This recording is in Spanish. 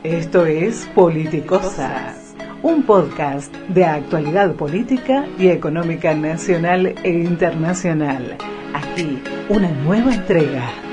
Esto es Politicosas, un podcast de actualidad política y económica nacional e internacional. Aquí, una nueva entrega.